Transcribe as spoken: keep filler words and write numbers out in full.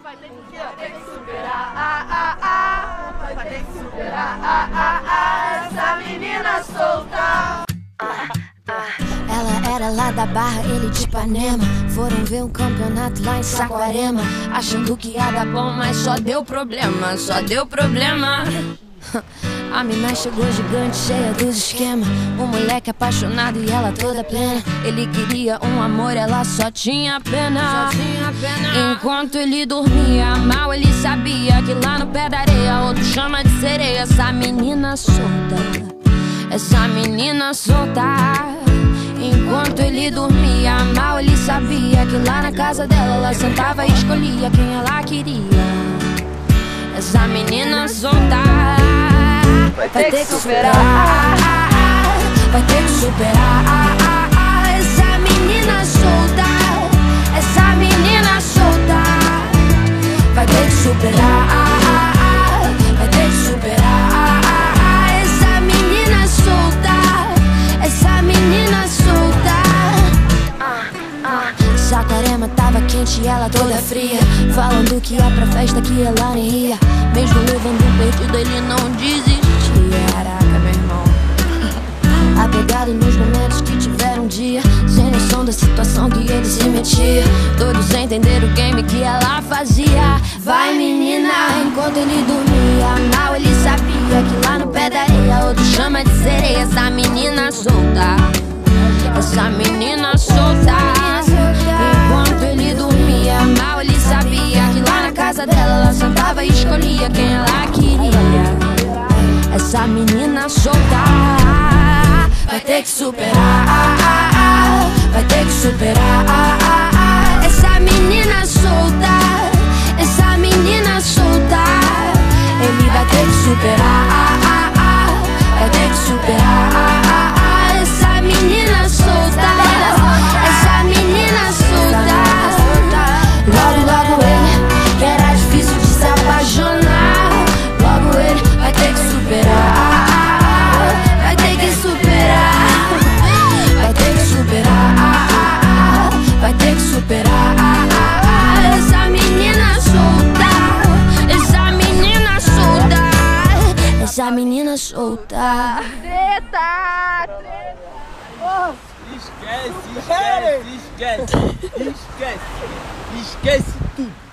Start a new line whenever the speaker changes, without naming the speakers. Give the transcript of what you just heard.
vai ter que, vai ter que superar, ah, ah, ah, vai ter que superar, ah, ah, ah, essa menina solta.
Ela era lá da Barra, ele de Ipanema. Foram ver um campeonato lá em Saquarema, achando que ia dar bom, mas só deu problema, só deu problema. A mina chegou gigante, cheia dos esquemas. O moleque apaixonado e ela toda plena. Ele queria um amor, ela só tinha pena. Só tinha pena. Enquanto ele dormia mal, ele sabia que lá no pé da areia outro chama de sereia. Essa menina solta, essa menina solta. Enquanto ele dormia mal, ele sabia que lá na casa dela ela sentava e escolhia quem ela queria. Essa menina solta
vai ter que superar,
vai ter que superar. Essa menina solta, essa menina solta vai ter que superar, vai ter que superar. Essa menina solta, essa menina solta. Saquarema tava quente e ela toda fria, falando que ia pra festa que ela nem ia. Mesmo levando um perdido ele não desistia. Caraca, meu irmão. Apegado nos momentos que tiveram um dia, sem noção da situação que ele se metia. Todos entenderam o game que ela fazia. Vai menina, enquanto ele dormia mal, ele sabia que lá no pé da areia outro chama de sereia. Essa menina solta, essa menina solta. Enquanto ele dormia mal, ele sabia que lá na casa dela ela sentava e escolhia quem ela queria. Essa menina solta vai ter que superar, vai ter que superar. Essa menina solta, essa menina solta. Ele vai ter que superar, vai ter que superar. Essa menina solta, essa menina solta. Logo, logo ele, que era difícil de se apaixonar. Logo ele vai ter que superar, vai ter que superar, vai ter que superar, vai ter que superar. Essa menina solta, essa menina solta, essa menina solta.
Treta, treta. Oh.
Esquece, esquece, esquece, esquece, esquece tudo.